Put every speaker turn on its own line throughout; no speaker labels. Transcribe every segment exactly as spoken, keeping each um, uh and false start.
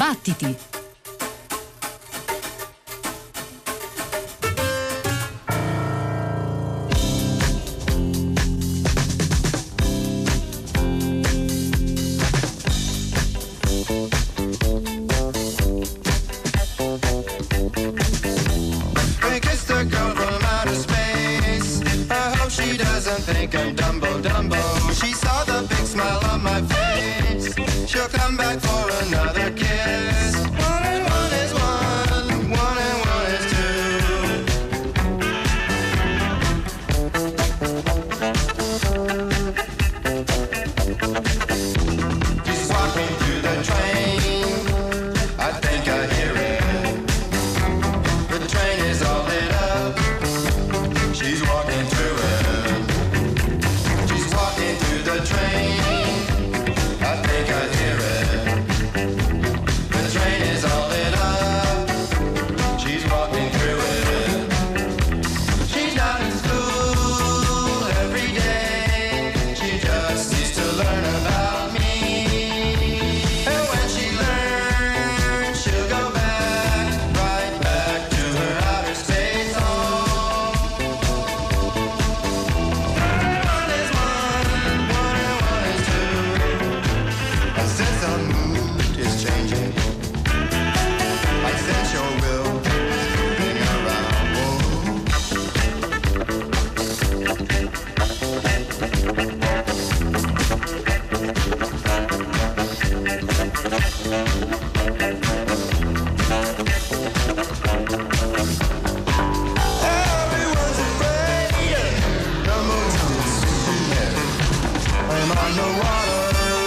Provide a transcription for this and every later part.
Battiti!
Think I'm Dumbo Dumbo. She saw the big smile on my face. She'll come back for another kiss. One and one is one, one and one is two. She's walking through the train. I think I hear it. The train is all lit up. She's walking through it. The train, I think I hear it. The train is all lit up. She's walking through it. She's not in school every day. She just needs to learn about me. And when she learns, she'll go back, right back to her outer space home. One is one. Since our mood is changing, I sense your will being around. Everyone's afraid the moon's in. I'm on the water.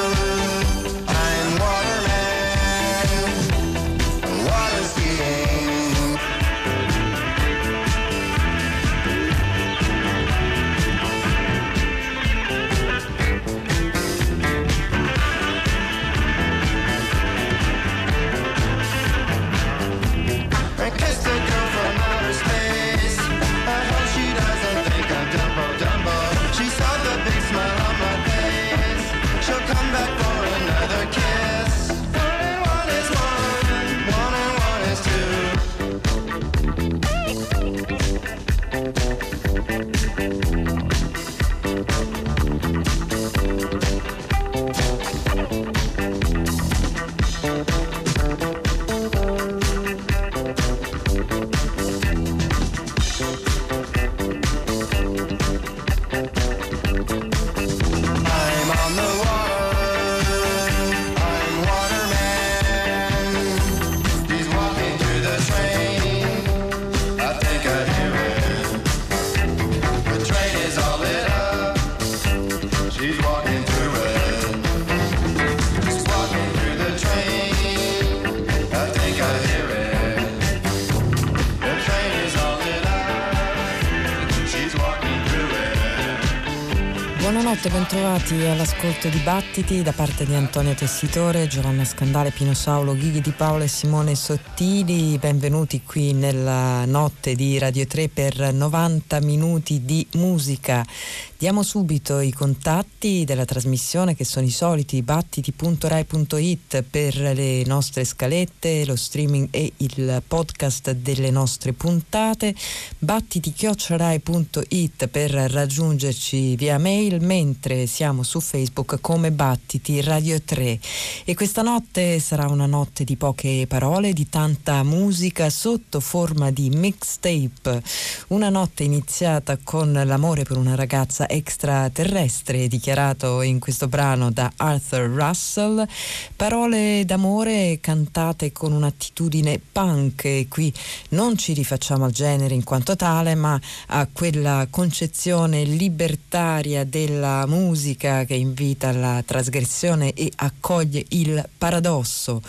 Buonanotte, bentrovati all'ascolto di Battiti da parte di Antonio Tessitore, Giovanna Scandale, Pino Saulo, Ghighi Di Paola e Simone Sottili. Benvenuti qui nella notte di Radio tre per novanta minuti di musica. Diamo subito i contatti della trasmissione, che sono i soliti: battiti punto rai punto it per le nostre scalette, lo streaming e il podcast delle nostre puntate, battiti chiocciola rai punto it per raggiungerci via mail, mentre siamo su Facebook come Battiti Radio tre. E questa notte sarà una notte di poche parole, di tanta musica sotto forma di mixtape. Una notte iniziata con l'amore per una ragazza extraterrestre, dichiarato in questo brano da Arthur Russell, parole d'amore cantate con un'attitudine punk, e qui non ci rifacciamo al genere in quanto tale, ma a quella concezione libertaria della musica che invita alla trasgressione e accoglie il paradosso.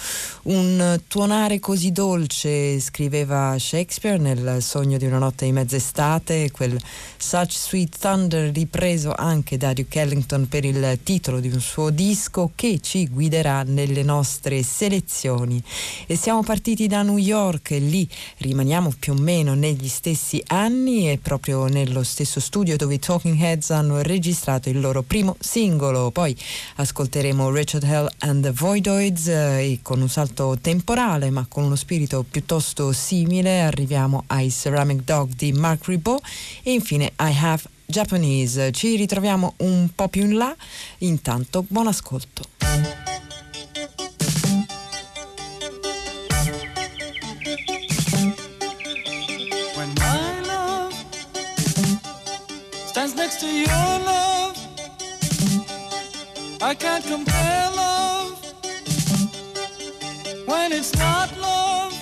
Un tuonare così dolce, scriveva Shakespeare nel Sogno di una notte di mezz'estate, quel Such Sweet Thunder ripreso anche da Duke Ellington per il titolo di un suo disco, che ci guiderà nelle nostre selezioni. E siamo partiti da New York, e lì rimaniamo più o meno negli stessi anni, e proprio nello stesso studio dove i Talking Heads hanno registrato registrato il loro primo singolo. Poi ascolteremo Rachel Hell and the Voidoids eh, e con un salto temporale ma con uno spirito piuttosto simile arriviamo ai Ceramic Dog di Mark Ribot e infine I Have Japanese. Ci ritroviamo un po' più in là, intanto buon ascolto.
When my love stands next to your love, I can't compare love when it's not love.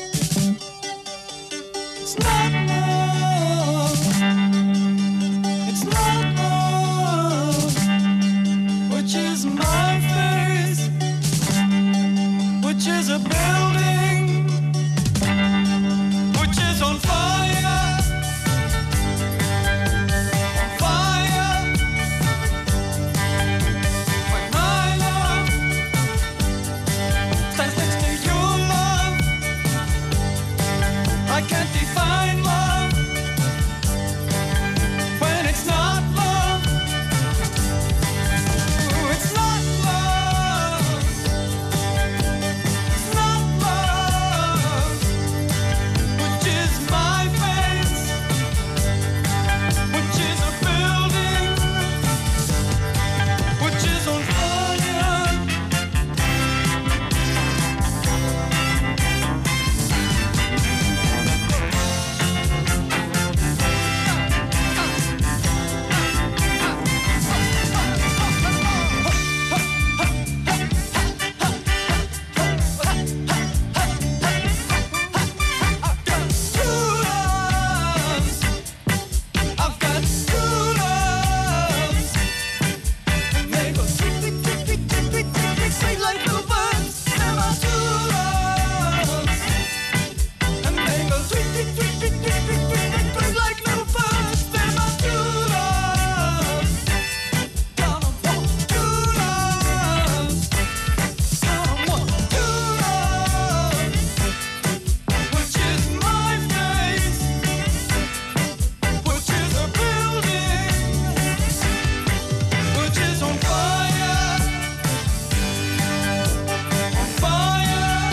It's not love. It's not love. Which is my face, which is a building, which is on fire, on fire. When my love stands next to your love, I can't define love when it's not love. Ooh, it's not love. It's not love. Which is my face, which is a building, which is on fire. Two loves. I've got two loves. And they go tweet, tweet, tweet, tweet, tweet, tweet, tweet, tweet, sweet like little birds. They're my two loves. And they go tweet, tweet, tweet, tweet, tweet, tweet, tweet, tweet, tweet like little birds. They're my two loves. Gonna want two loves. Gonna want two loves. Which is my face, which is a building, which is on fire, on fire.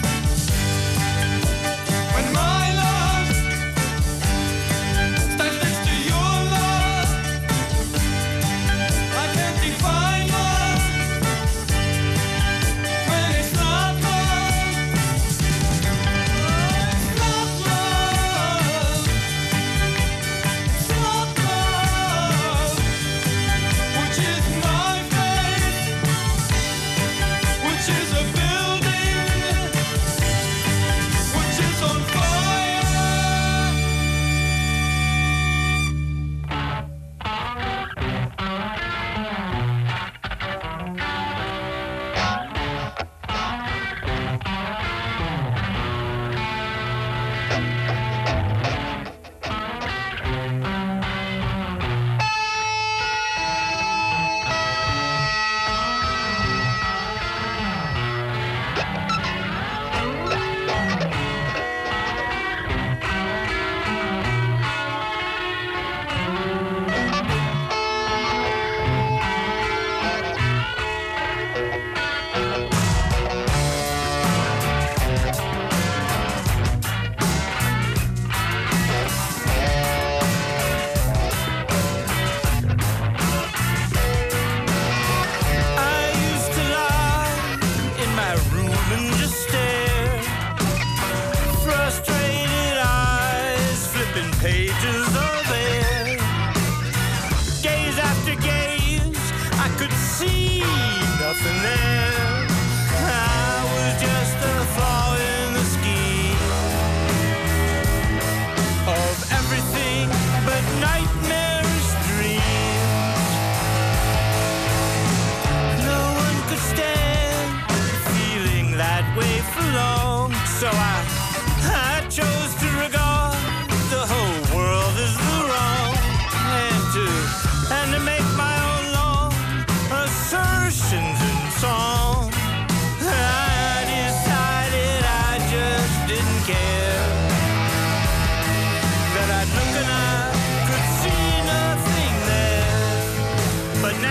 When my love stands next to your love, I can't define love when it's not love. It's not love. It's not love. Which is my face, which is a building, which is on fire. I used to lie in my room and just stare, frustrated eyes flipping pages of air. Gaze after gaze, I could see nothing there. I was just a flaw in the scheme of everything but nightmarish dreams. No one could stand feeling that way for long, so I, I chose to regard the whole world as the wrong, and to, and to make my own long assertions in song.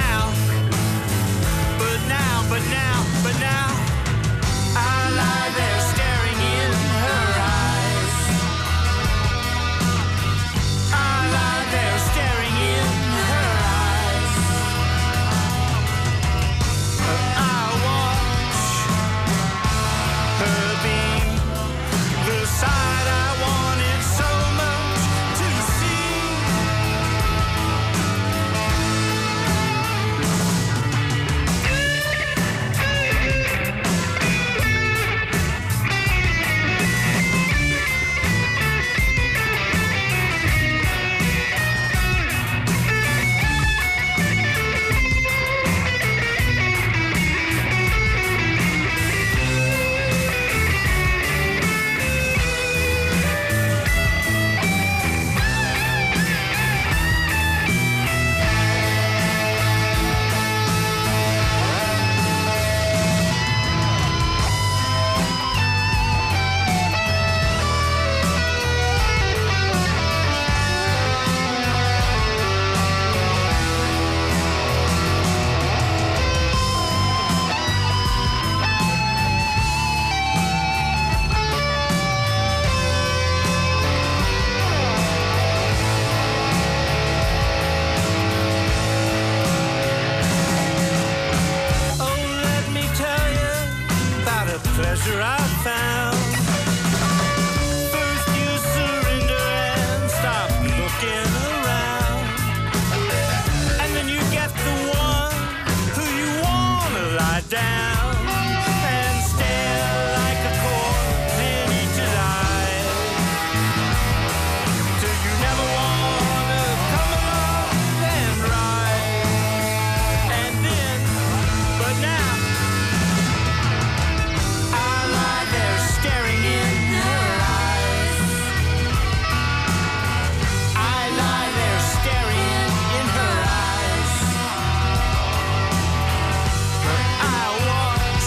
now, but now, but now, but now, I lie there staring in her eyes. I lie there staring in her eyes. I watch her be the side I wanted so much to see. Pleasure I found. First you surrender and stop looking around, and then you get the one who you wanna lie down and stare like a corpse in each eye, till you never wanna come along and ride. And then, but now staring in her eyes. I lie there staring in her eyes. I watch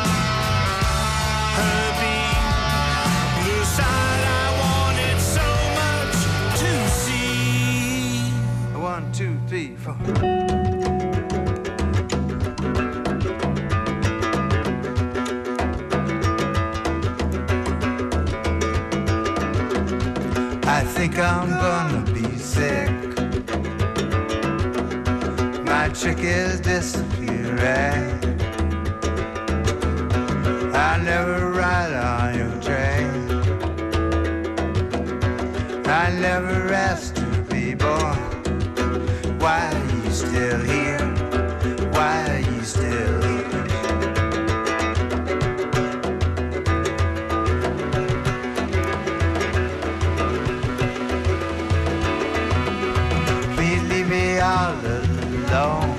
her be the side I wanted so much to see.
One, two, three, four. I think I'm gonna be sick. My chick is disappearing. I never ride on your train. I never asked to be born. Why are you still here? Why are you still here? All alone.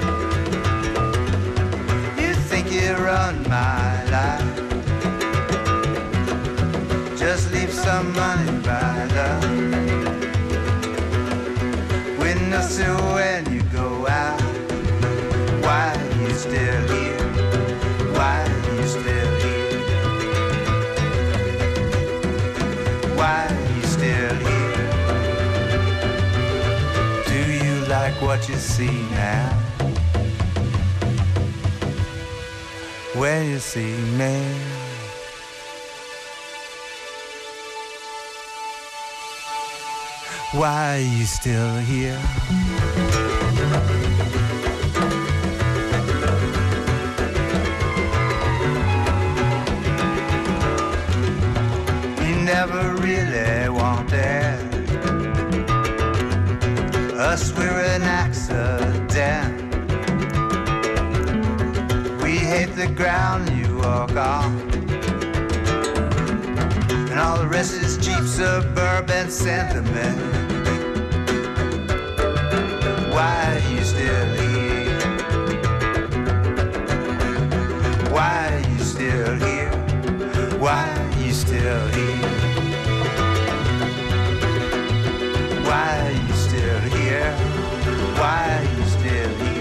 You think you run my life. Just leave some money by the window sill when you go out. Why are you still here? Why are you still here? Why are you still here? Like what you see now, when you see me. Why are you still here? You never really wanted us, we're an accident. We hate the ground you walk on, and all the rest is cheap suburban sentiment. Why are you still here? Why are you still here? Why are you still here? Why are you still here? Why are you still here?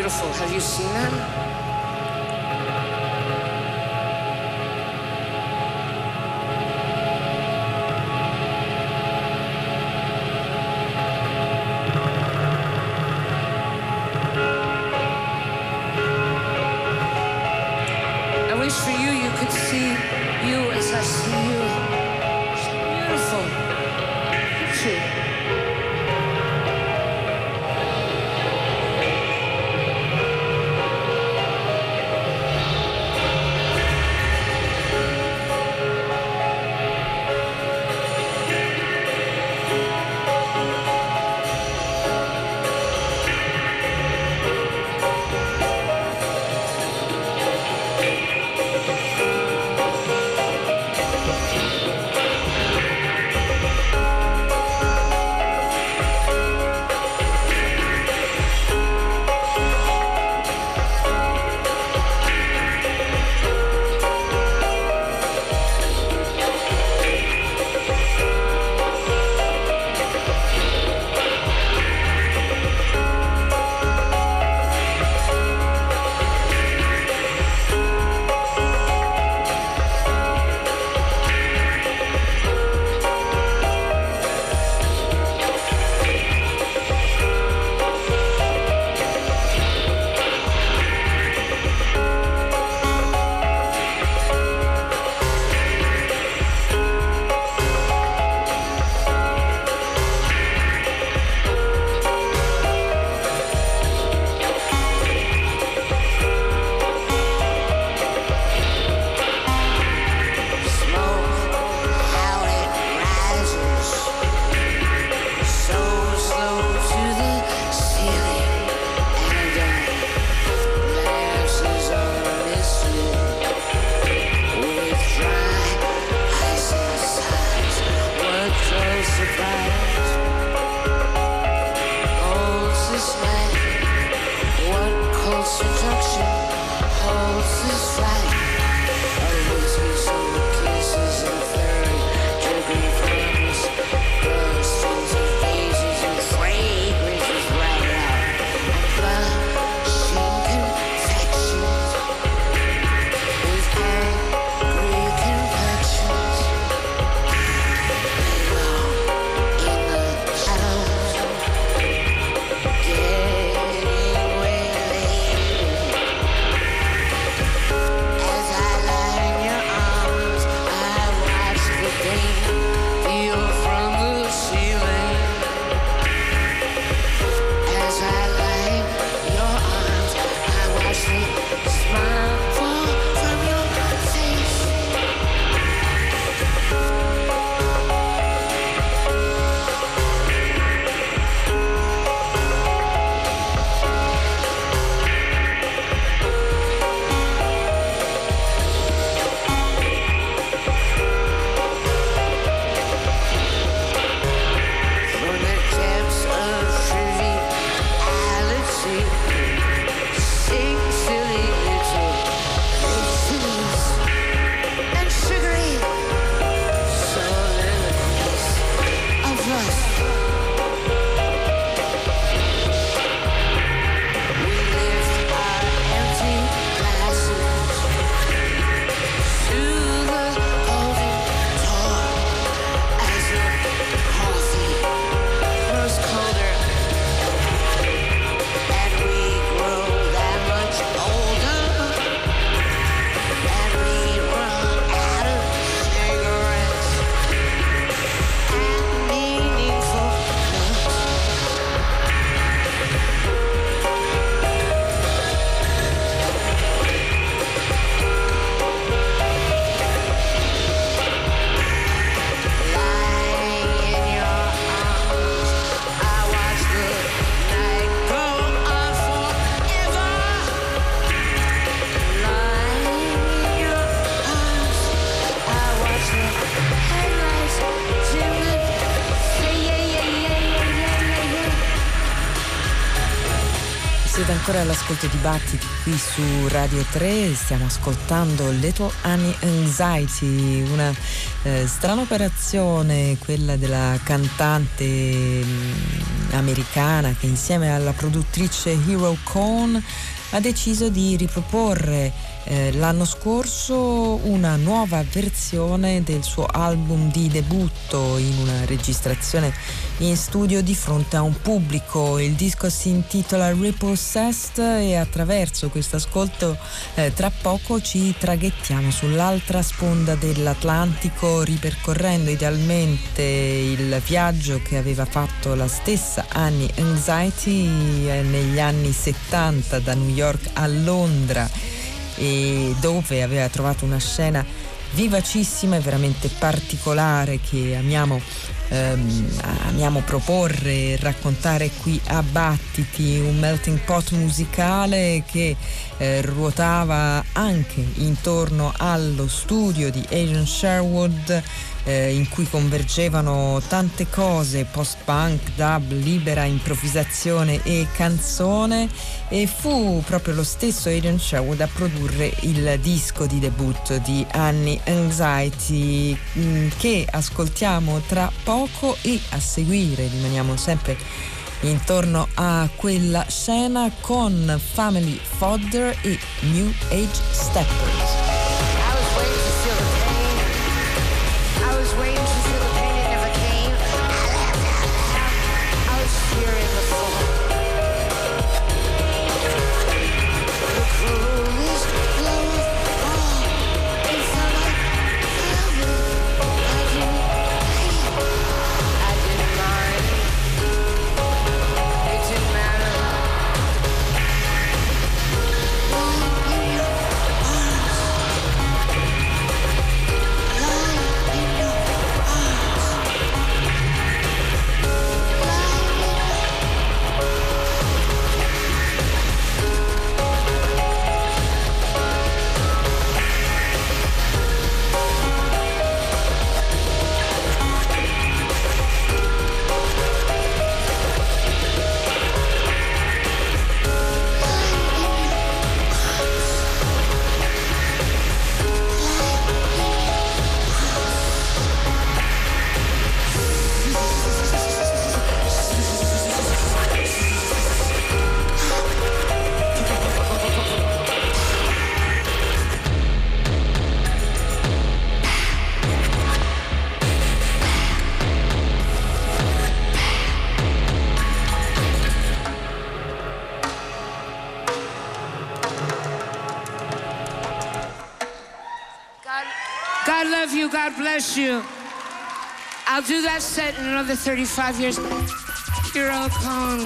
beautiful. Have you seen them? I wish for you you could see you as I see you. It's beautiful. Picture.
Siete ancora all'ascolto di Battiti qui su Radio tre, stiamo ascoltando Little Annie Anxiety, una eh, strana operazione, quella della cantante mh, americana che insieme alla produttrice Hero Cohn ha deciso di riproporre eh, l'anno scorso una nuova versione del suo album di debutto in una registrazione in studio di fronte a un pubblico. Il disco si intitola Repossessed e attraverso questo ascolto eh, tra poco ci traghettiamo sull'altra sponda dell'Atlantico, ripercorrendo idealmente il viaggio che aveva fatto la stessa Annie Anxiety eh, negli anni settanta da New York a Londra, e dove aveva trovato una scena vivacissima e veramente particolare che amiamo ehm, amiamo proporre e raccontare qui a Battiti, un melting pot musicale che eh, ruotava anche intorno allo studio di Adrian Sherwood, eh, in cui convergevano tante cose, post-punk, dub, libera improvvisazione e canzone, e fu proprio lo stesso Adrian Sherwood a produrre il disco di debutto di Annie Anxiety, mh, che ascoltiamo tra poco, e a seguire rimaniamo sempre intorno a quella scena con Family Fodder e New Age Steppers.
I was waiting to feel the pain. I was waiting to feel the pain, it never came. I was fearing the fall. The cruelest blow of all. It felt like heaven. I didn't, I didn't mind. It didn't matter. Lying in your arms. Lying in your arms. God, God love you, God bless you. I'll do that set in another thirty-five years. Hero Cohn.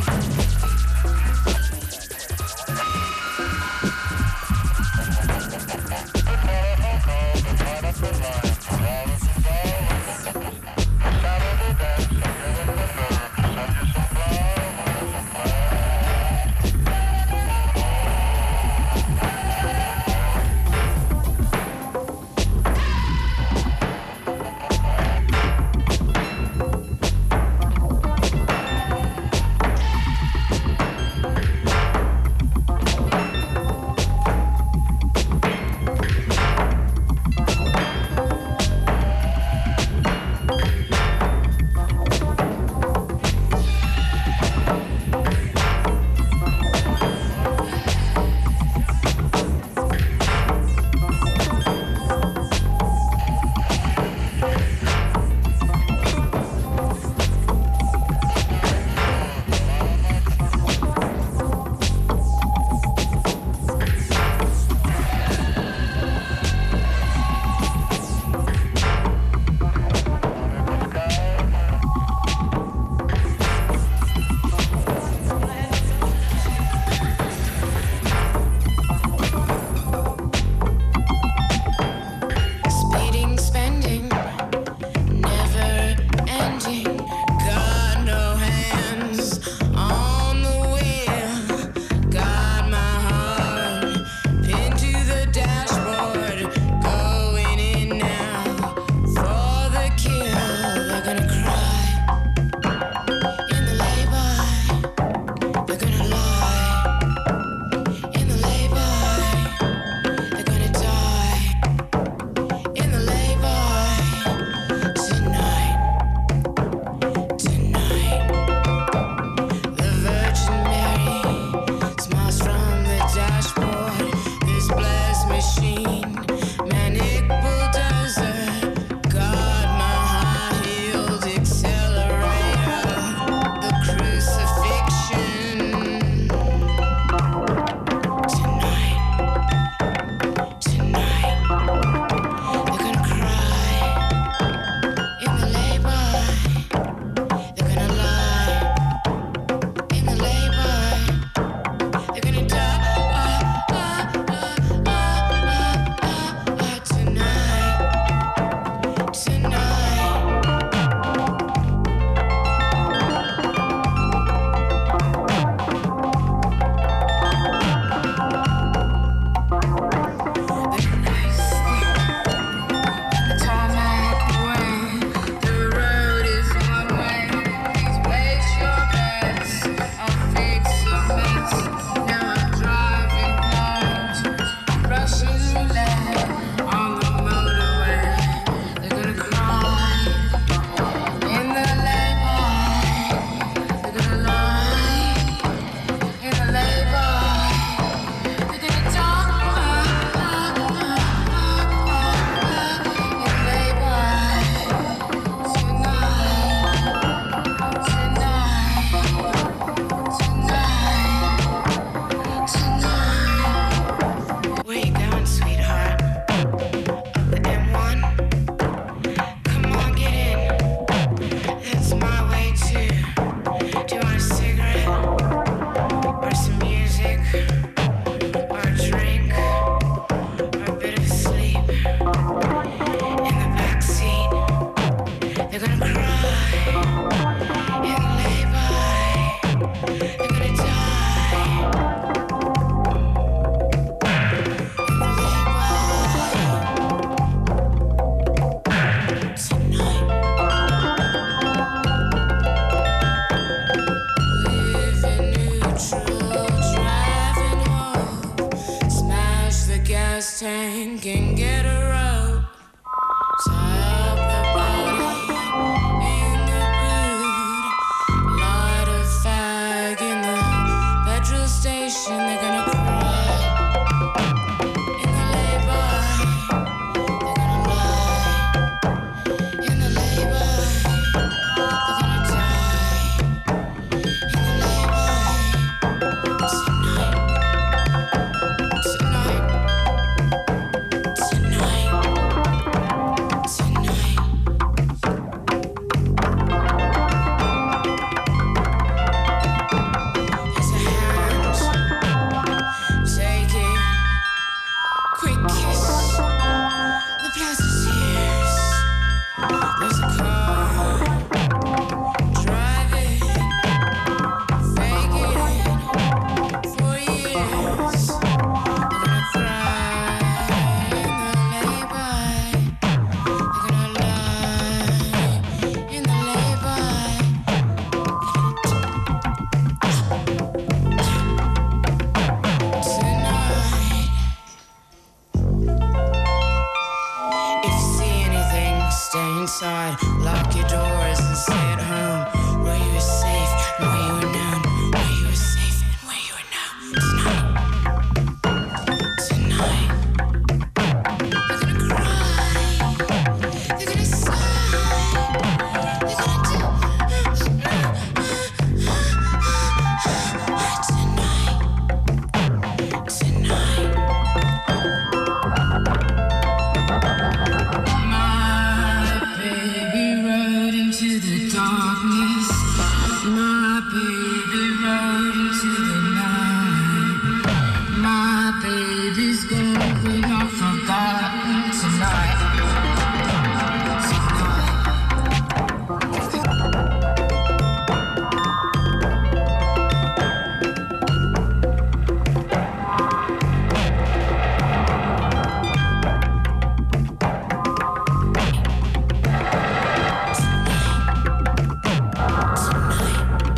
Tonight.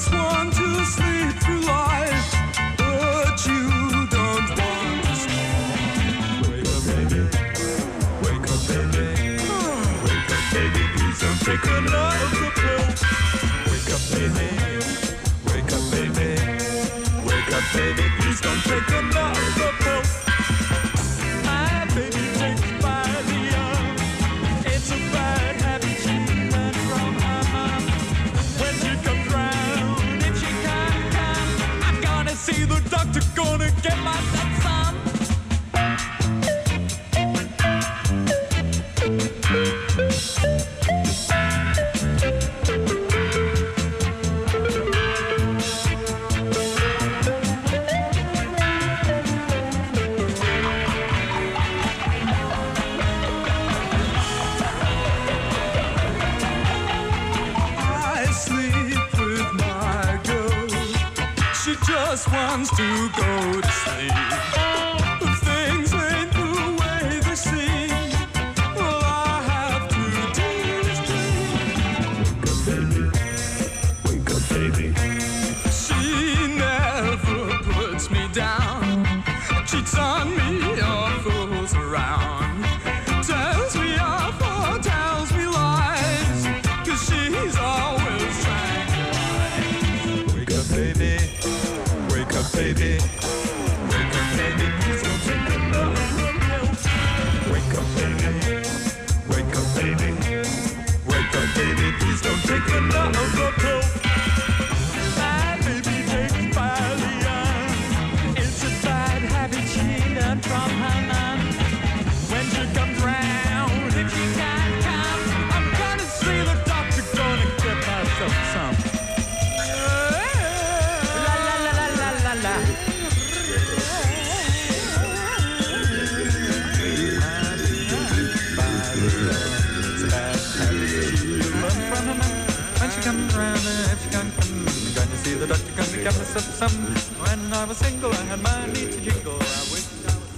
just want to sleep through life, but you don't want to sleep. Wake up, baby. Wake up, baby. Wake up, baby. Please don't take another pill. Wake up, baby. Wake up, baby. Wake up, baby. Please don't take another pill. My baby takes by the arm. It's a bad habit she learned from her mom. When she comes round, if she can't come, I'm gonna see the doctor, gonna get myself some. Just wants to go to sleep. But things ain't the way they seem. All I have to do is dream. Wake up, baby. Wake up, baby. She never puts me down. Cheats on me or fools around. Tells me off or tells me lies. Cause she's always trying to lie. Wake up, baby. Wake up, baby. Wake up, baby. Please don't take another pill. Wake up, baby. Wake up, baby. Wake up, baby. Please don't take another pill. My baby takes by the arm. It's a bad habit she learned from her mom. When she comes round, if she can't come, I'm gonna see the doctor, gonna get myself some. When she comes round, if she can't come, I'm going to see the doctor, going to get myself some. When I was single, I had money to jingle. I wish I was.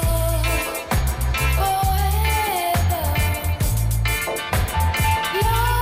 Forever.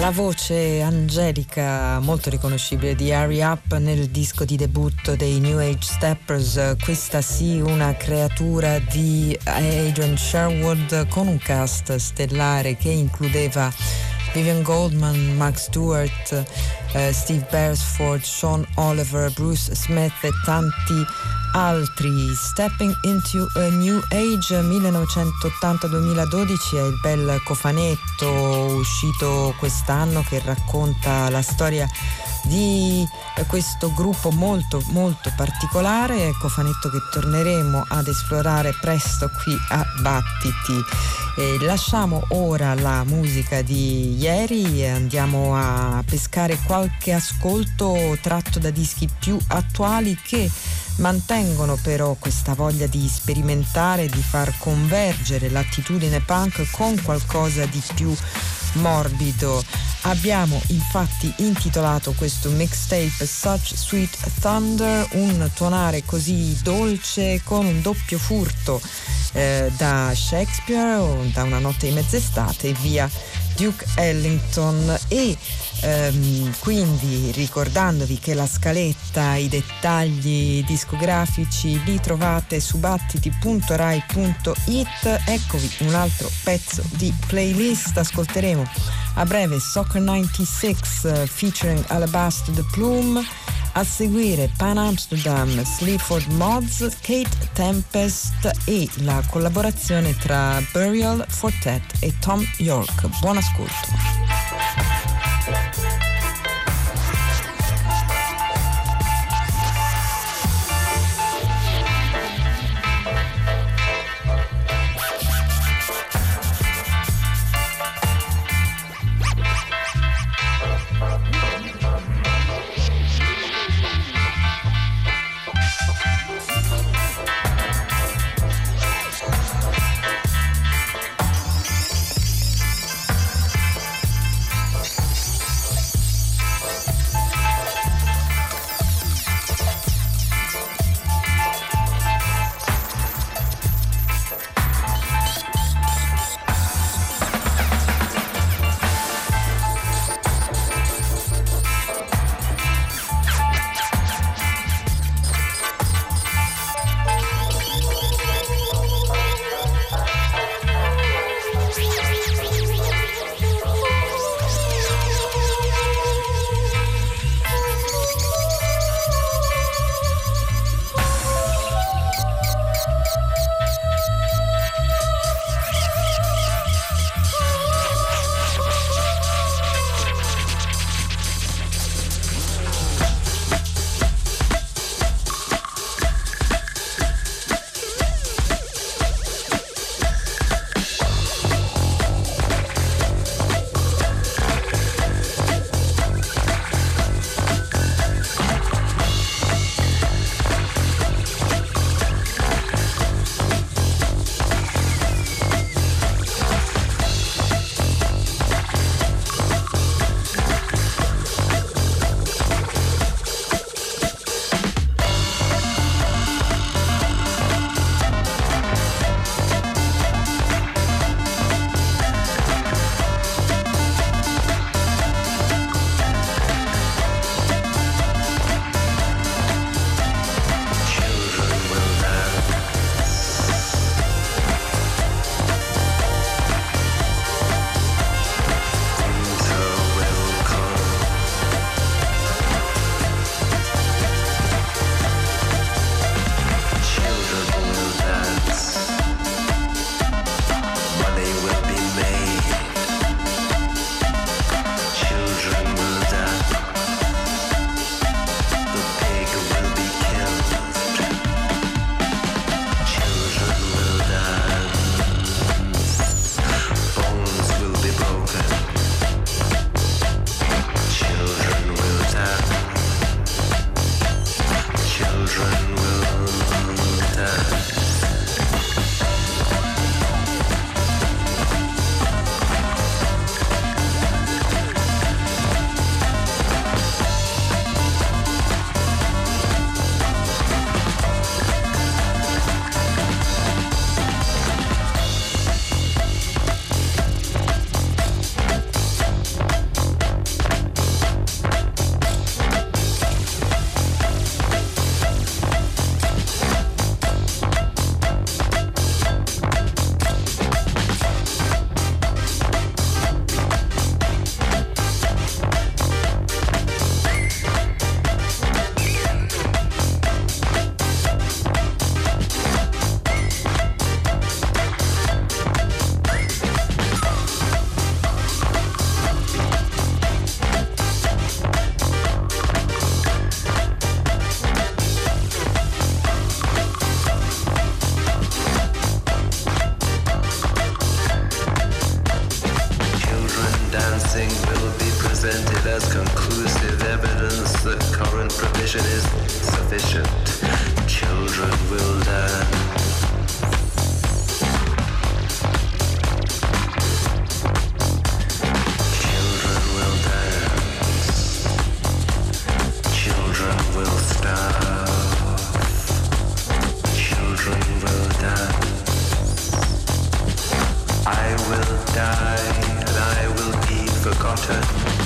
La voce angelica molto riconoscibile di Hurry Up nel disco di debutto dei New Age Steppers, questa sì una creatura di Adrian Sherwood con un cast stellare che includeva Vivian Goldman, Mark Stewart, eh, Steve Beresford, Sean Oliver, Bruce Smith e tanti altri. Stepping into a New Age millenovecentottanta duemiladodici è il bel cofanetto uscito quest'anno che racconta la storia di questo gruppo molto molto particolare, cofanetto che torneremo ad esplorare presto qui a Battiti. E lasciamo ora la musica di ieri e andiamo a pescare qualche ascolto tratto da dischi più attuali che mantengono però questa voglia di sperimentare, di far convergere l'attitudine punk con qualcosa di più morbido. Abbiamo infatti intitolato questo mixtape Such Sweet Thunder, un tuonare così dolce con un doppio furto eh, da Shakespeare o da Una notte di mezz'estate via Duke Ellington. E ehm, quindi ricordandovi che la scaletta, i dettagli discografici li trovate su battiti punto rai punto it, eccovi un altro pezzo di playlist. Ascolteremo a breve Soccer novantasei uh, featuring Alabaster the Plume, a seguire Pan Amsterdam, Sleaford Mods, Kate Tempest e la collaborazione tra Burial, Fortet e Tom York. Buon ascolto.
sufficient. Children will learn. Children will dance. Children will starve. Children will dance. I will die and I will be forgotten.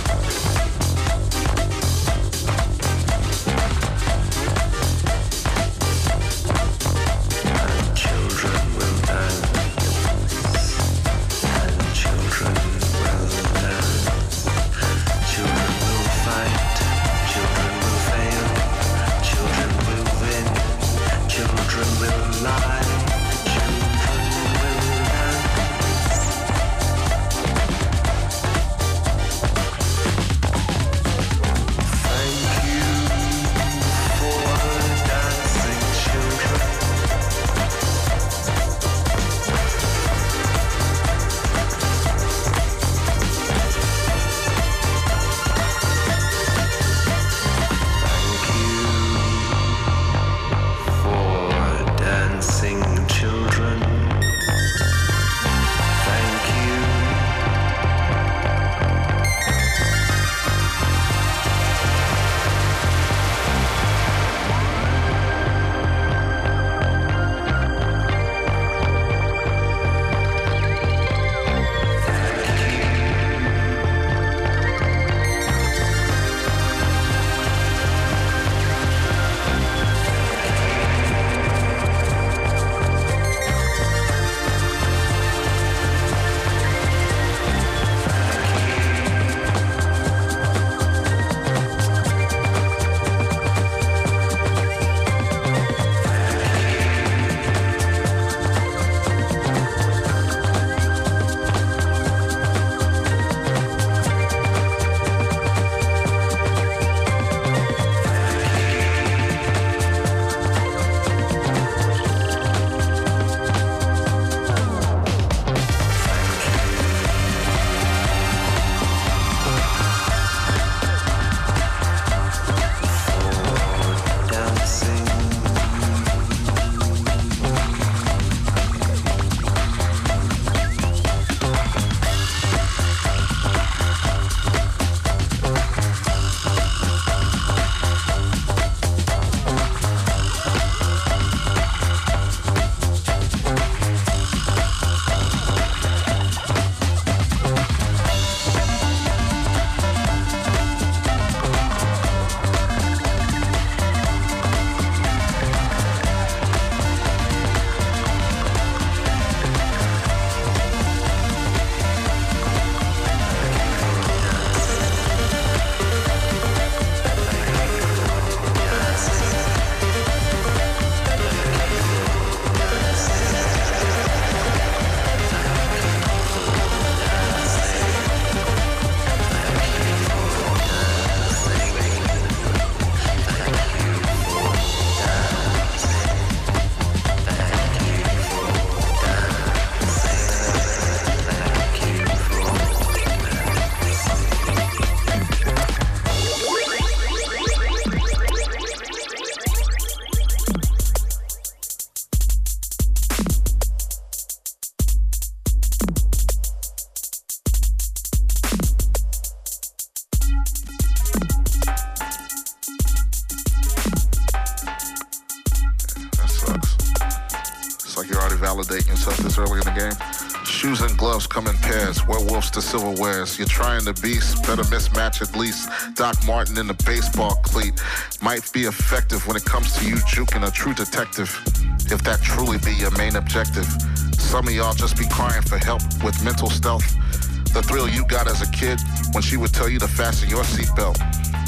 validating yourself this early in the game. Shoes and gloves come in pairs, werewolves to silverwares. You're trying the beast, better mismatch at least. Doc Martin in the baseball cleat might be effective when it comes to you juking a true detective, if that truly be your main objective. Some of y'all just be crying for help with mental stealth. The thrill you got as a kid when she would tell you to fasten your seatbelt.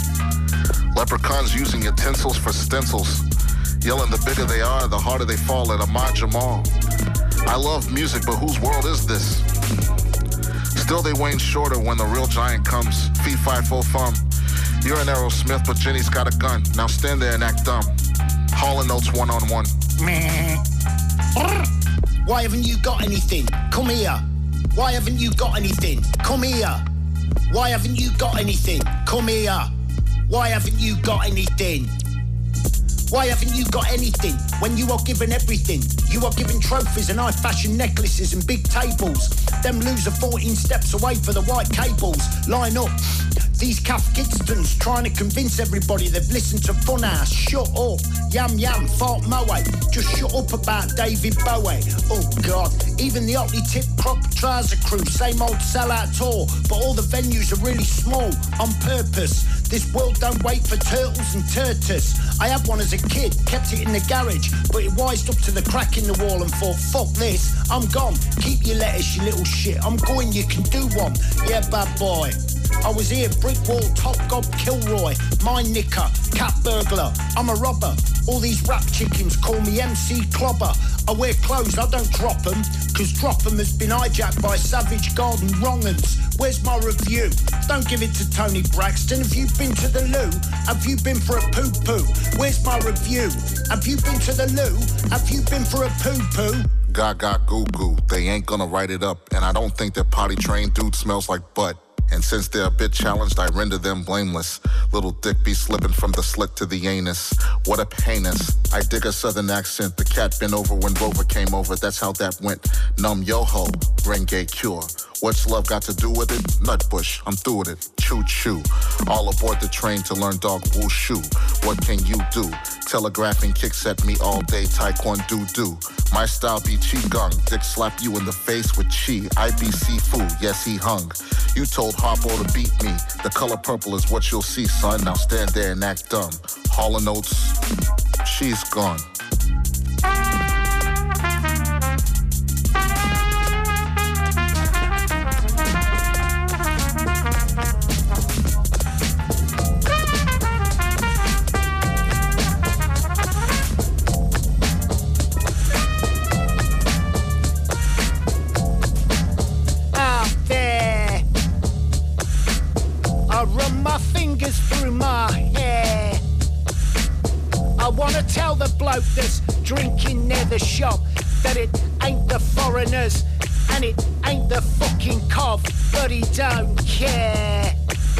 Leprechauns using utensils for stencils. Yelling the bigger they are, the harder they fall at Ahmad Jamal. I love music, but whose world is this? Still they wane shorter when the real giant comes. Fee, fi, fo, fum. You're an Aerosmith, but Jenny's got a gun. Now stand there and act dumb. Hall and Oates one-on-one.
Why haven't you got anything? Come here. Why haven't you got anything? Come here. Why haven't you got anything? Come here. Why haven't you got anything? Why haven't you got anything when you are given everything? You are given trophies and high-fashion necklaces and big tables. Them lose are fourteen steps away for the white cables. Line up. These Kath Gidstons trying to convince everybody they've listened to Funhouse. Shut up. Yam yam, fart moe. Just shut up about David Bowie. Oh God. Even the Otley Tip Crop Trouser Crew, same old sellout tour. But all the venues are really small on purpose. This world don't wait for turtles and turtles. I had one as a kid, kept it in the garage, but it wised up to the crack in the wall and thought, fuck this, I'm gone. Keep your lettuce, you little shit. I'm going, you can do one. Yeah, bad boy. I was here, brick wall, top gob, Kilroy, mine nicker, cat burglar, I'm a robber. All these rap chickens call me M C Clobber. I wear clothes, I don't drop them, cause drop them has been hijacked by Savage Garden wrong'uns. Where's my review? Don't give it to Tony Braxton. Have you been to the loo? Have you been for a poo-poo? Where's my review? Have you been to the loo? Have you been for a poo-poo?
Gaga goo goo, they ain't gonna write it up. And I don't think that potty trained dude smells like butt. And since they're a bit challenged, I render them blameless. Little dick be slipping from the slit to the anus. What a heinous. I dig a southern accent. The cat been over when Rover came over. That's how that went. Numb yo ho, bring gay cure. What's love got to do with it? Nutbush, I'm through with it. Choo choo. All aboard the train to learn dog wushu. What can you do? Telegraphing kicks at me all day, taekwondo do. My style be qigong. Dick slap you in the face with chi. I be seafood, yes he hung. You told Harpo to beat me. The color purple is what you'll see, son. Now stand there and act dumb. Hall and Oates, she's gone.
Through my hair, I wanna tell the bloke that's drinking near the shop that it ain't the foreigners and it ain't the fucking cov, but he don't care.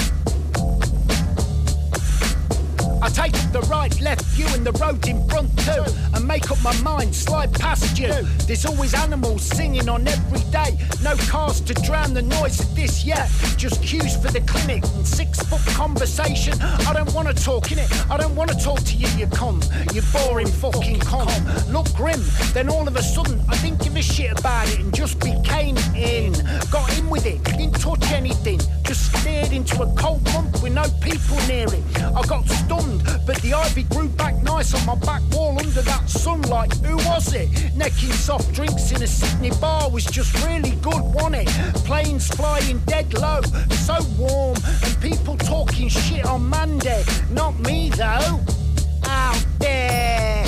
I take up the right, left view and the road in front too, and make up my mind, slide past you. There's always animals singing on every day. No cars to drown the noise of this, yeah. Just cues for the clinic and six foot conversation. I don't wanna talk in it, I don't wanna talk to you, you cunt. You boring fucking cunt. Look grim, then all of a sudden I didn't give a shit about it and just became in. Got in with it, didn't touch anything, just stared into a cold month with no people near it. I got stunned, but the ivy grew back nice on my back wall under that sunlight. Who was it? Necking soft drinks in a Sydney bar was just really good, wasn't it? Planes flying dead low, so warm, and people talking shit on Monday. Not me though, out there.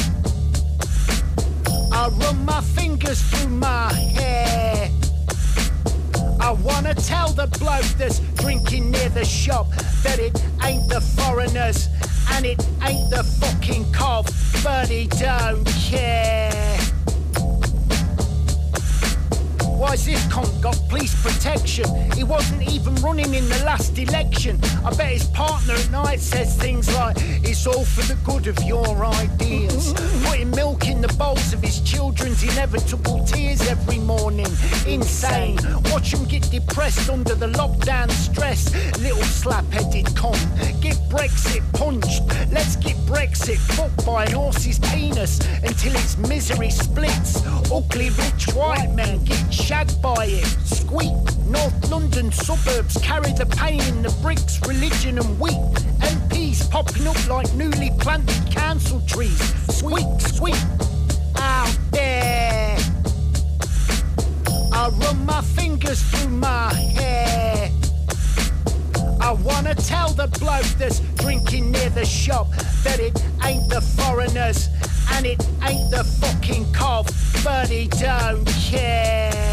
I run my fingers through my hair. I wanna tell the bloke that's drinking near the shop that it ain't the foreigners and it ain't the fucking cov, but he don't care. Why's this cunt got police protection? He wasn't even running in the last election. I bet his partner at night says things like, it's all for the good of your ideas. Putting milk in the bowls of his children's inevitable tears every morning. Insane. Watch him get depressed under the lockdown stress. Little slap-headed cunt. Get Brexit punched. Let's get Brexit fucked by an horse's penis until its misery splits. Ugly rich white men get shagged by it. Squeak. North London suburbs carry the pain in the bricks, religion and wheat. M Ps popping up like newly planted council trees. Squeak, squeak. Out there. I run my fingers through my hair. I wanna tell the bloke that's drinking near the shop that it ain't the foreigners and it ain't the fucking cov, but he don't care.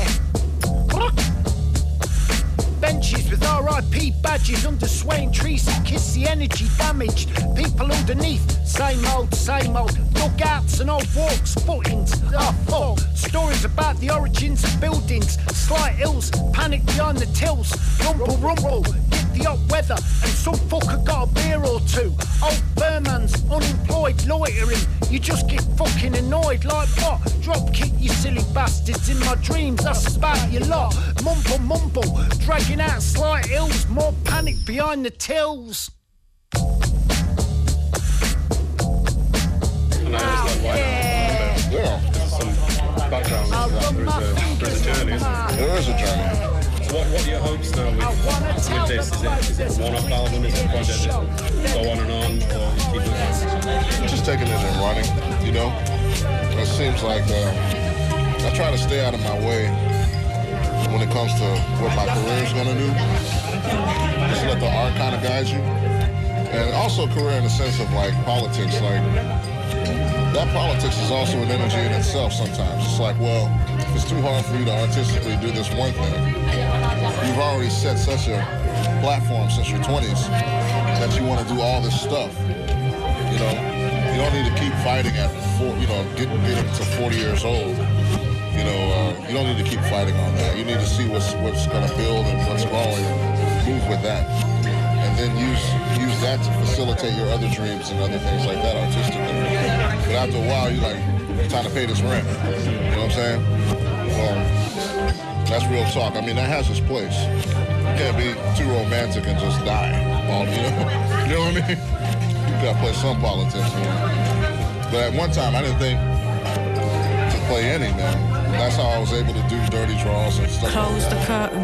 Benches with R I P badges under swaying trees that kiss the energy damaged. People underneath, same old, same old. dugouts and old walks, footings. Oh, fuck. Stories about the origins of buildings, slight hills, panic behind the tills. Rumble, rumble, get the hot weather, and some fucker got a beer or two. Old Burman's unemployed, loitering. You just get fucking annoyed, like what? Drop kick, you silly bastards, in my dreams. That's about your lot. Mumble, mumble, dragging out slight hills, more panic behind the tills.
Oh, yeah.
Yeah.
Some background into that. There is a, there is a journey, isn't there?
There is a journey.
So what, what are your hopes now with, with this? Is it, is it a one-off album? Is it a project that go on and on? Or you keep it?
Just taking it and running, you know? It seems like uh, I try to stay out of my way when it comes to what my career is going to do. Just let the art kind of guide you. And also career in the sense of like politics, like that politics is also an energy in itself sometimes. It's like, well, if it's too hard for you to artistically do this one thing, you've already set such a platform since your twenties that you want to do all this stuff. You know, you don't need to keep fighting at, four, you know, getting, getting to forty years old. You know, uh, you don't need to keep fighting on that. You need to see what's what's going to build and what's growing and move with that. And then use use that to facilitate your other dreams and other things like that artistically. But after a while, you're like, time to pay this rent. You know what I'm saying? Um, that's real talk. I mean, that has its place. You can't be too romantic and just die. All, you know? You know what I mean? You gotta play some politics, man. But at one time, I didn't think to play any, man. That's how I was able to do dirty draws and stuff.
Close
like
the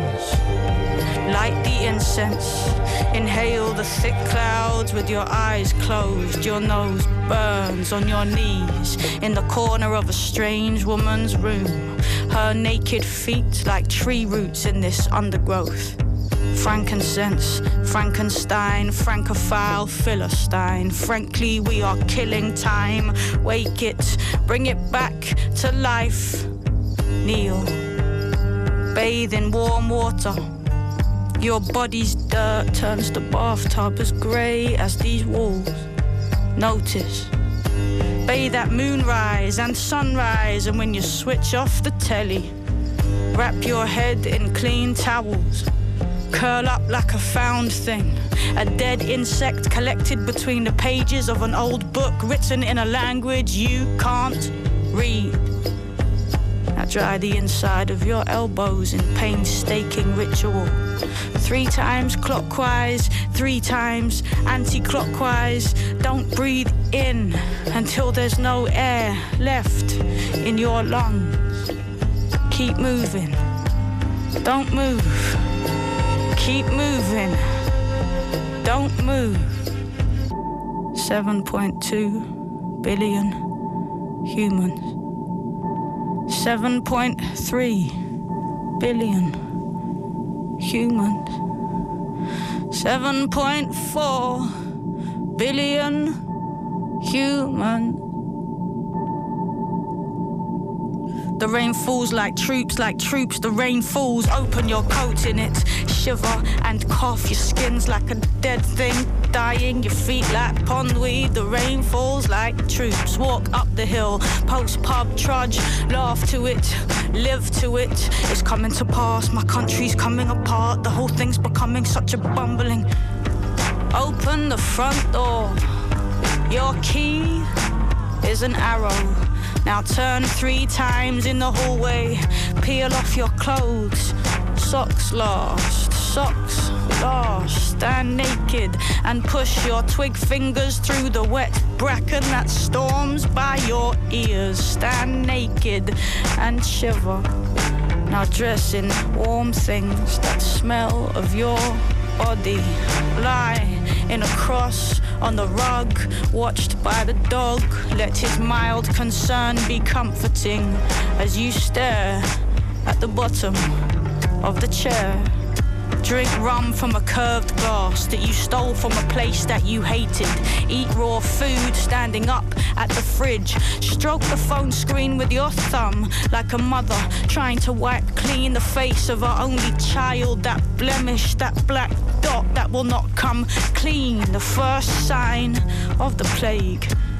curtains, light the incense, inhale the thick clouds with your eyes closed. Your nose burns on your knees in the corner of a strange woman's room. Her naked feet like tree roots in this undergrowth. Frankincense, Frankenstein, Francophile, Philistine. Frankly, we are killing time. Wake it, bring it back to life. Kneel, bathe in warm water. Your body's dirt turns the bathtub as grey as these walls. Notice, bathe at moonrise and sunrise, and when you switch off the telly, wrap your head in clean towels. Curl up like a found thing, a dead insect collected between the pages of an old book written in a language you can't read. Now dry the inside of your elbows in painstaking ritual. Three times clockwise, three times anti-clockwise. Don't breathe in until there's no air left in your lungs. Keep moving. Don't move. Keep moving. Don't move. seven point two billion humans. seven point three billion humans. seven point four billion humans. The rain falls like troops, like troops. The rain falls, open your coat in it. Shiver and cough, your skin's like a dead thing dying, your feet like pondweed. The rain falls like troops. Walk up the hill, post pub, trudge, laugh to it, live to it. It's coming to pass, my country's coming apart. The whole thing's becoming such a bumbling. Open the front door. Your key is an arrow. Now turn three times in the hallway. Peel off your clothes. Socks last, socks last. Stand naked and push your twig fingers through the wet bracken that storms by your ears. Stand naked and shiver. Now dress in warm things that smell of your body. Lie in a cross on the rug, watched by the dog. Let his mild concern be comforting as you stare at the bottom of the chair. Drink rum from a curved glass that you stole from a place that you hated. Eat raw food standing up at the fridge. Stroke the phone screen with your thumb like a mother trying to wipe clean the face of her only child. That blemish, that black dot that will not come clean. The first sign of the plague.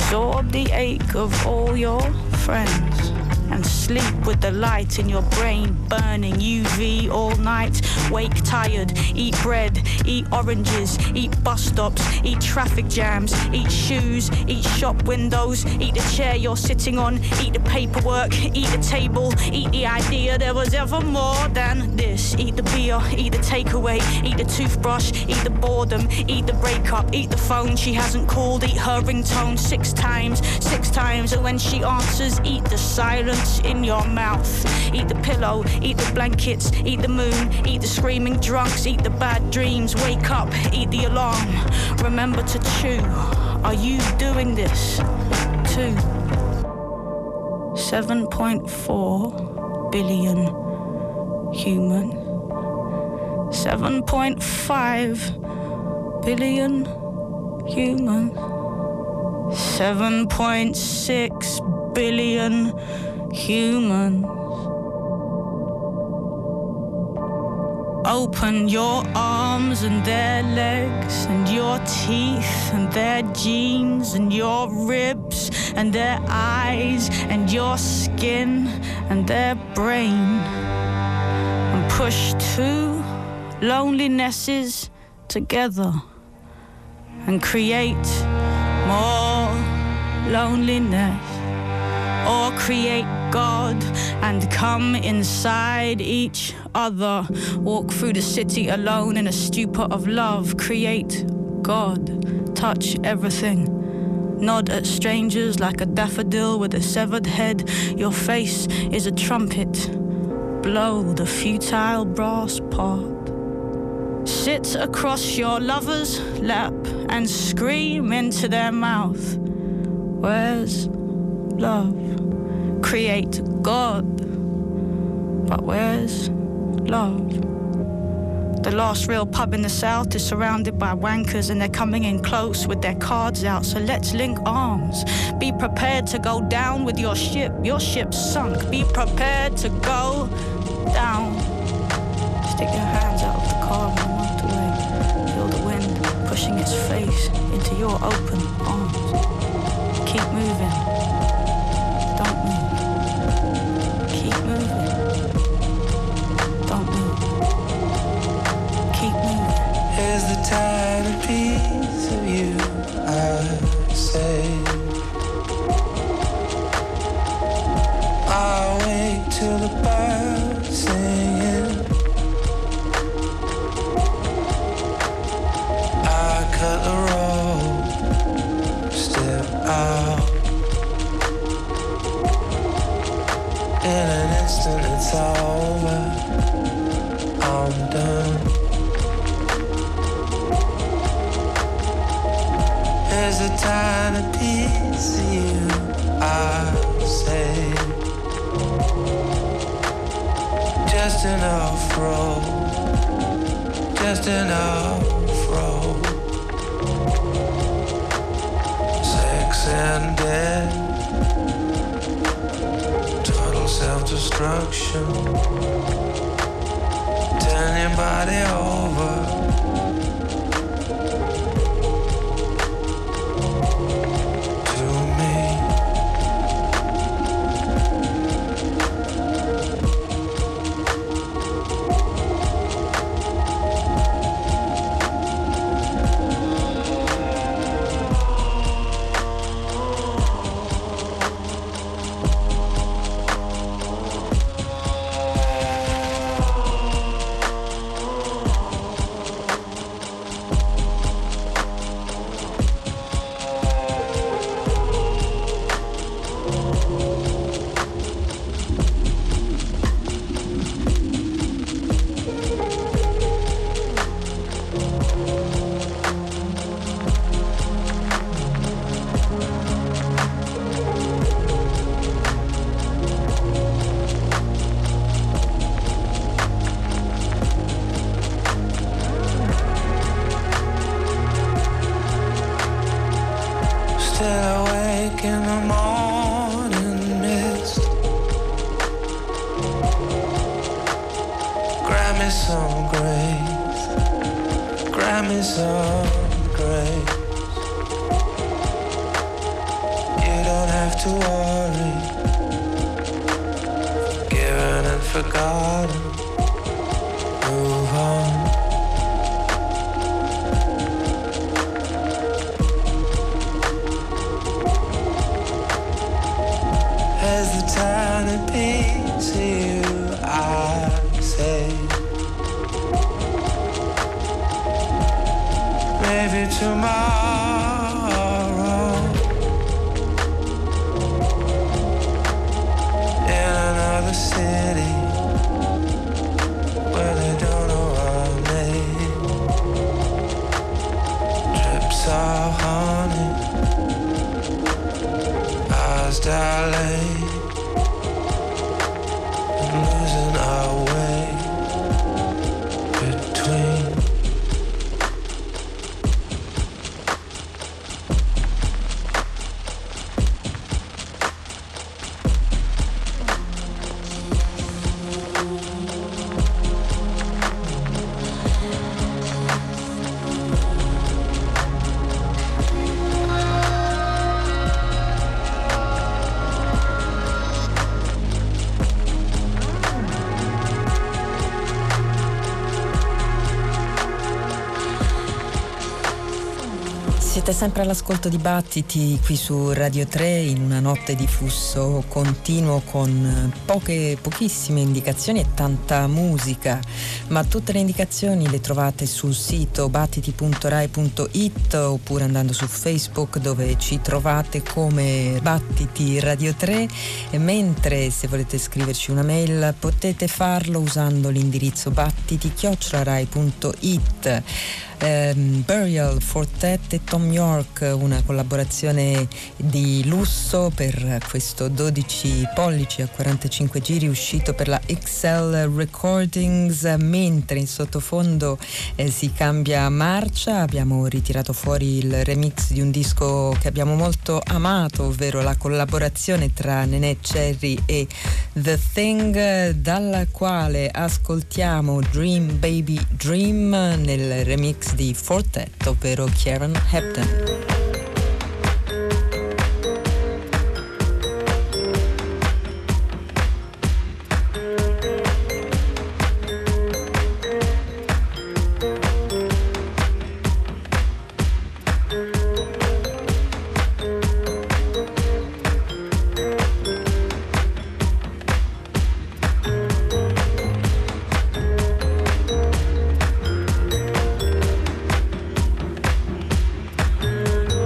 Absorb the ache of all your friends and sleep with the light in your brain burning. U V all night, wake tired, eat bread, eat oranges, eat bus stops, eat traffic jams, eat shoes, eat shop windows, eat the chair you're sitting on, eat the paperwork, eat the table, eat the idea there was ever more than this. Eat the beer, eat the takeaway, eat the toothbrush, eat the boredom, eat the breakup, eat the phone she hasn't called, eat her ringtone six times, six times, and when she answers, eat the silence in your mouth. Eat the pillow, eat the blankets, eat the moon, eat the screaming drunks, eat the bad dreams, wake up, eat the alarm, remember to chew. Are you doing this too? seven point four billion human, seven point five billion human, seven point six billion humans. Open your arms and their legs and your teeth and their jeans and your ribs and their eyes and your skin and their brain, and push two lonelinesses together and create more loneliness. Or create God and come inside each other. Walk through the city alone in a stupor of love. Create God. Touch everything. Nod at strangers like a daffodil with a severed head. Your face is a trumpet. Blow the futile brass part. Sit across your lover's lap and scream into their mouth. Where's love? Create God, but where's love? The last real pub in the south is surrounded by wankers and they're coming in close with their cards out, so let's link arms. Be prepared to go down with your ship. Your ship's sunk. Be prepared to go down. Stick your hands out of the car and walk away. Feel the wind pushing its face into your open arms. Keep moving. Don't move. Keep moving. Don't move. Keep moving.
Here's the tiny piece of you I say. I'll wait till the birds singing. I cut the road, step out. In an instant it's over, I'm done. Here's a tiny piece of you I say. Just enough road, just enough road. Sex and death, self-destruction. Turn your body over.
to worry. Forgiven and forgotten. Move on. As the tiny piece of you I say, maybe tomorrow, in another city where they don't know our name. Trips are haunted, ours darling, and losing our way between.
Siete sempre all'ascolto di Battiti qui su Radio tre in una notte di flusso continuo con poche, pochissime indicazioni e tanta musica, ma tutte le indicazioni le trovate sul sito battiti punto rai punto it oppure andando su Facebook dove ci trovate come Battiti Radio tre, e mentre se volete scriverci una mail potete farlo usando l'indirizzo battiti chiocciola rai punto it. Um, Burial Fortet e Tom York, una collaborazione di lusso per questo dodici pollici a quarantacinque giri uscito per la X L Recordings, mentre in sottofondo eh, si cambia marcia. Abbiamo ritirato fuori il remix di un disco che abbiamo molto amato, ovvero la collaborazione tra Neneh Cherry e The Thing, dalla quale ascoltiamo Dream Baby Dream nel remix di Fortet, ovvero Kieran Hebden.
Thank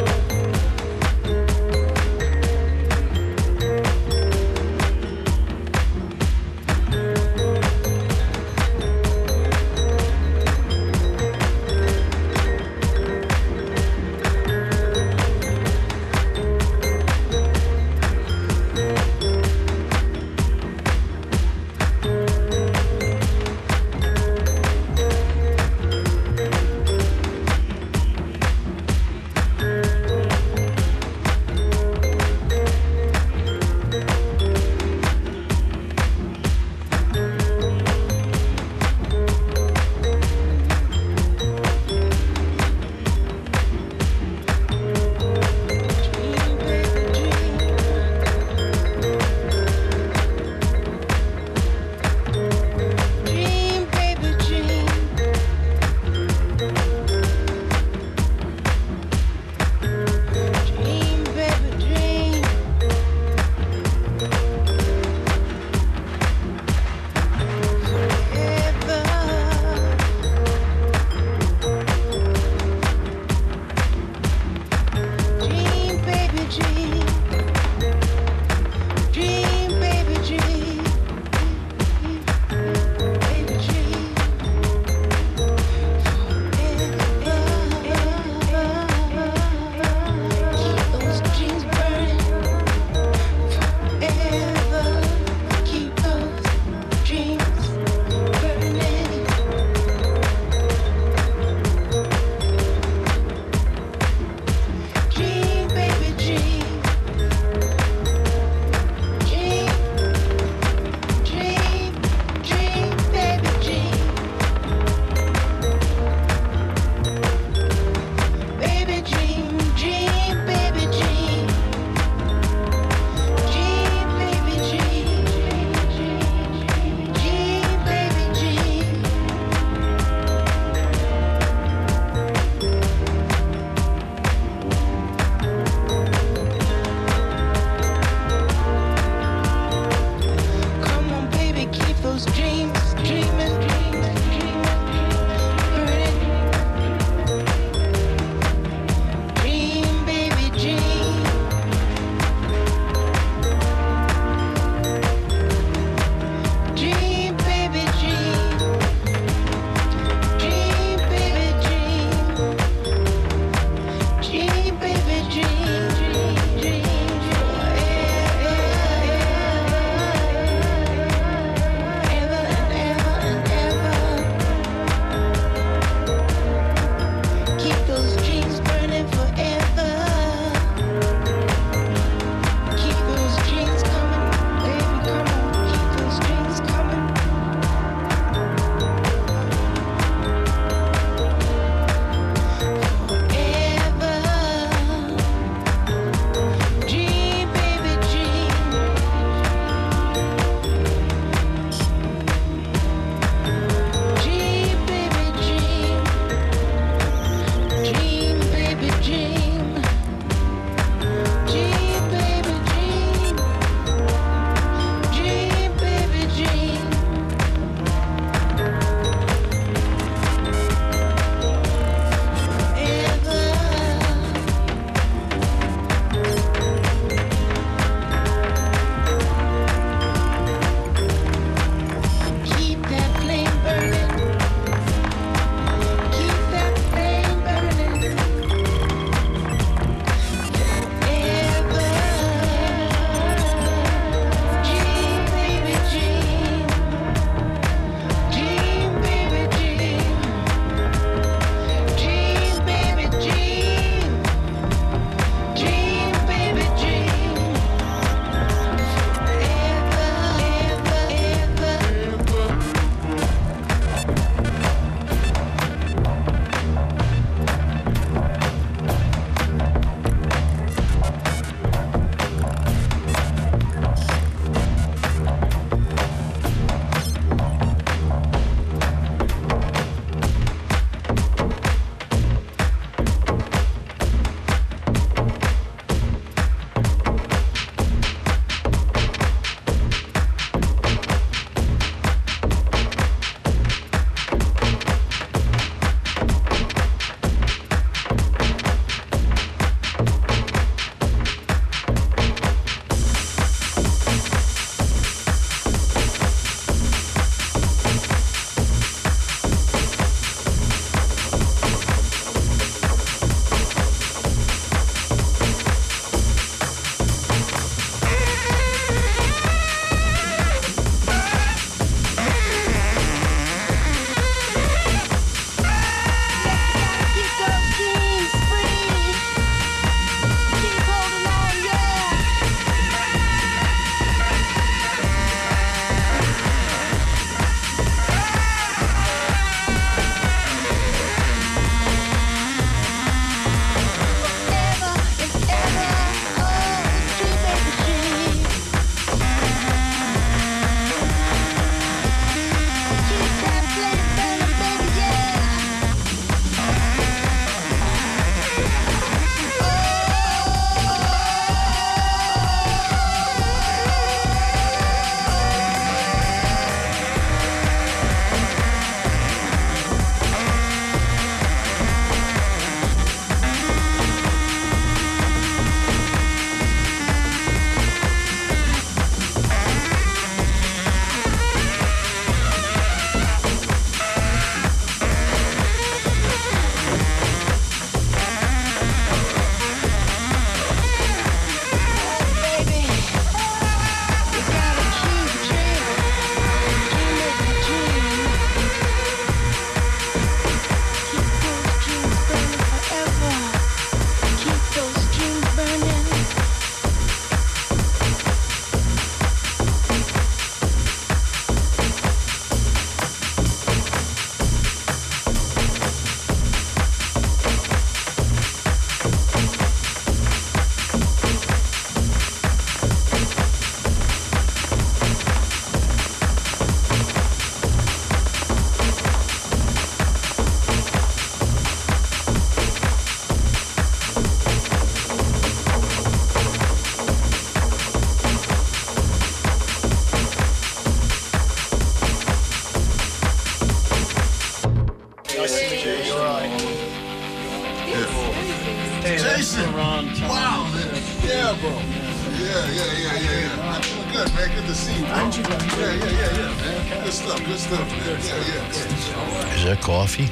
Yeah, bro. Yeah, yeah, yeah, yeah, yeah. I'm doing good, man. Good to see you, bro. Yeah, yeah, yeah, yeah, man. Good stuff, good stuff, man. Yeah, yeah.
Is there coffee?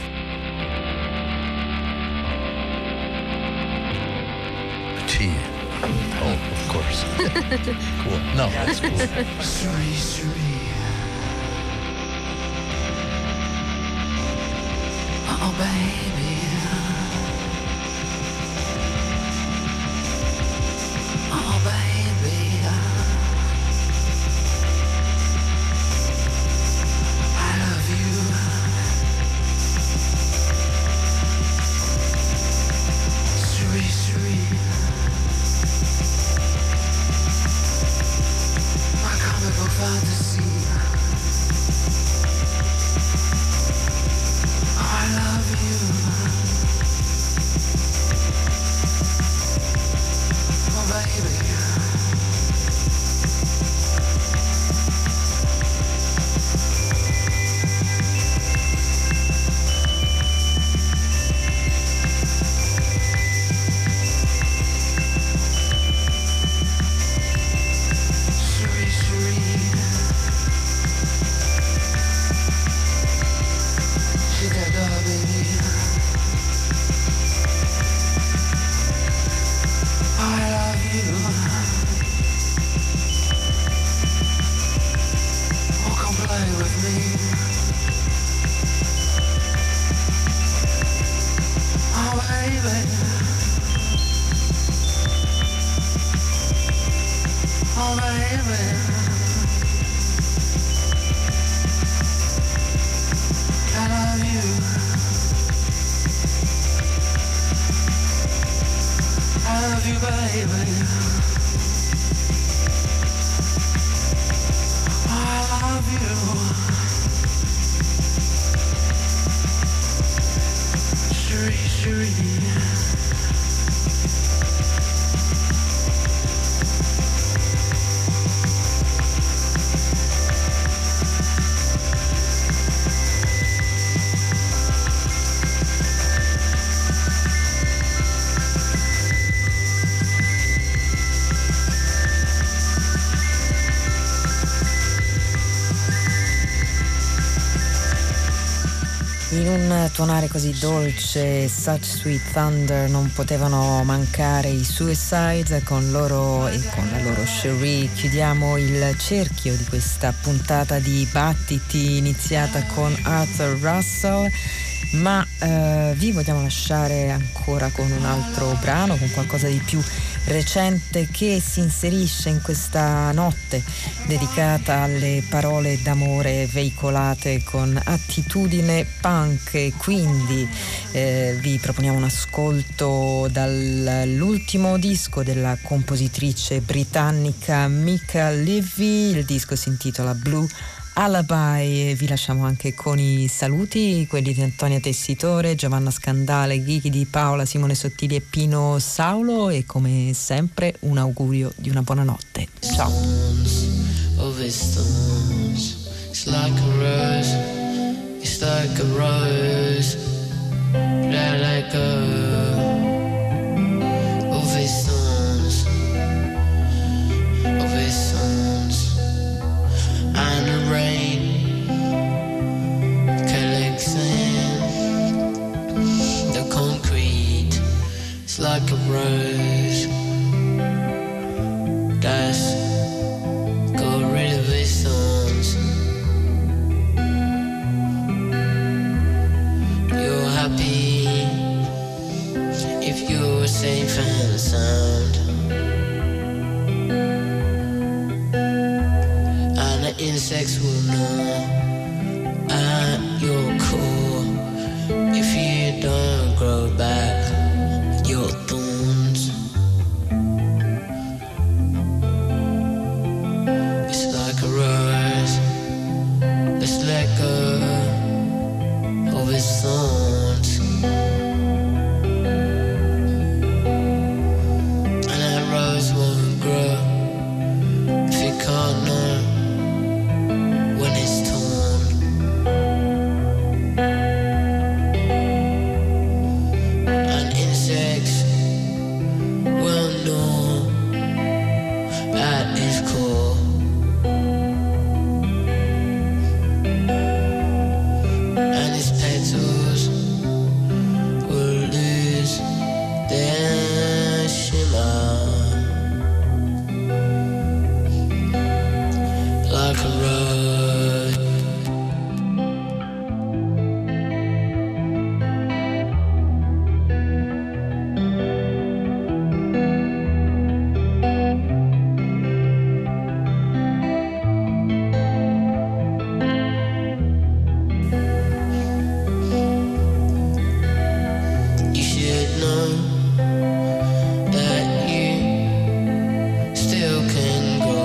Tea. Oh, of course. Cool. No, that's cool.
Suri, suri. Oh, baby. Oh, baby. I love you. Suri, suri. My comic book fantasy. I love you. Oh, baby. Suri, suri. She got dog, baby. I love you. Oh, come play with me. Oh, baby. Oh, baby. I love you. I love you, baby. I love you. Shuri, shuri.
In un tuonare così dolce, Such Sweet Thunder, non potevano mancare i Suicides con loro e con la loro Cherie. Chiudiamo il cerchio di questa puntata di Battiti iniziata con Arthur Russell, ma eh, vi vogliamo lasciare ancora con un altro brano, con qualcosa di più recente che si inserisce in questa notte dedicata alle parole d'amore veicolate con attitudine punk, e quindi eh, vi proponiamo un ascolto dall'ultimo disco della compositrice britannica Mika Levy. Il disco si intitola Blue Alibi e vi lasciamo anche con i saluti, quelli di Antonia Tessitore, Giovanna Scandale, Ghighi di Paola, Simone Sottili e Pino Saulo, e come sempre un augurio di una buona notte. Ciao.
Of his stones, it's like a rose, it's like a rose, let let go of his stones, of his stones, and the rain collects in the concrete, it's like a rose that's got rid of his thorns. You're happy if you're safe and sound, and the insects will know at your core if you don't grow back your thorns. It's like a rose, let's let go of its thorns, and that rose won't grow if you can't know when it's torn. like a rush. You should know that you still can go.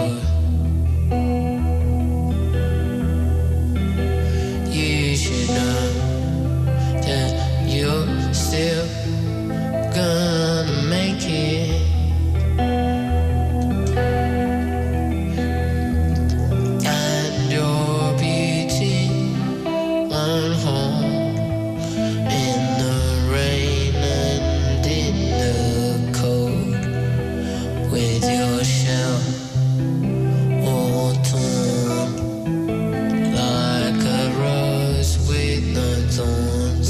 You should know that you're still gonna make it. And you're beauty on home in the rain and in the cold, with your shell all torn, like a rose with no thorns,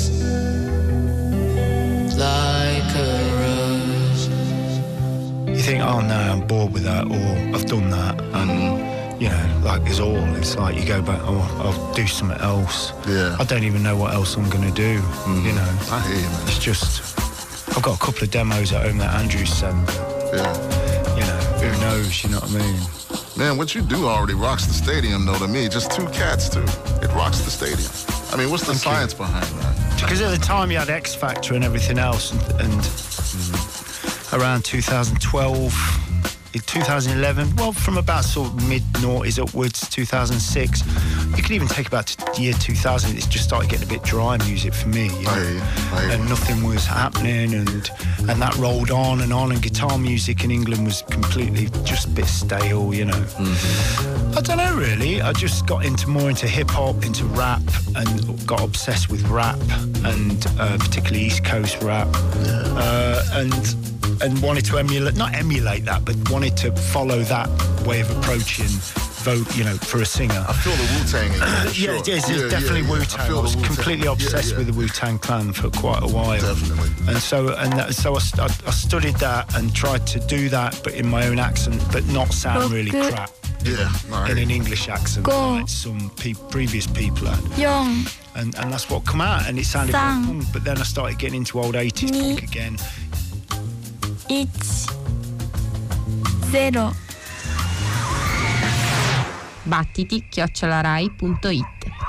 like a rose.
You think, oh no, I'm bored with that, or I've done that, and you know, like it's all. It's like you go back, oh, I'll do something else.
Yeah.
I don't even know what else I'm gonna do. You know,
I hear you, man.
it's just I've got a couple of demos at home that Andrew sent.
Yeah.
You know, who knows? You know what I mean?
Man, what you do already rocks the stadium, though, to me. Just two cats, too. It rocks the stadium. I mean, what's the
Thank you.
science behind that?
Because at the time you had X Factor and everything else, and, and around two thousand twelve, in two thousand eleven, well, from about sort of mid noughties upwards, two thousand six, you can even take about to the year two thousand. It's just started getting a bit dry music for me, you know?
I hear you. I hear you.
And nothing was happening, and and that rolled on and on, and guitar music in England was completely just a bit stale, you know. I don't know really. I just got into more into hip hop, into rap, and got obsessed with rap, and uh, particularly East Coast rap, uh, and and wanted to emulate, not emulate that, but wanted to follow that way of approaching vote, you know, for a singer.
I feel the Wu-Tang in you, for sure.
Yeah, it is.
Yeah,
It's definitely
yeah, yeah. I
Wu-Tang.
feel
I
the
was
Wu-Tang.
completely
Yeah,
obsessed
yeah.
with the Wu-Tang Clan for quite a while.
Definitely.
And so, and that, so I, st- I, I studied that and tried to do that, but in my own accent, but not sound really
Okay.
crap.
Yeah, no,
In an English accent,
Go.
like some pe- previous people had.
Young.
And, and that's what come out, and it sounded like
Sang.
punk, but then I started getting into old eighties
Ni.
punk again.
It's zero.
battiti chiocciola rai punto it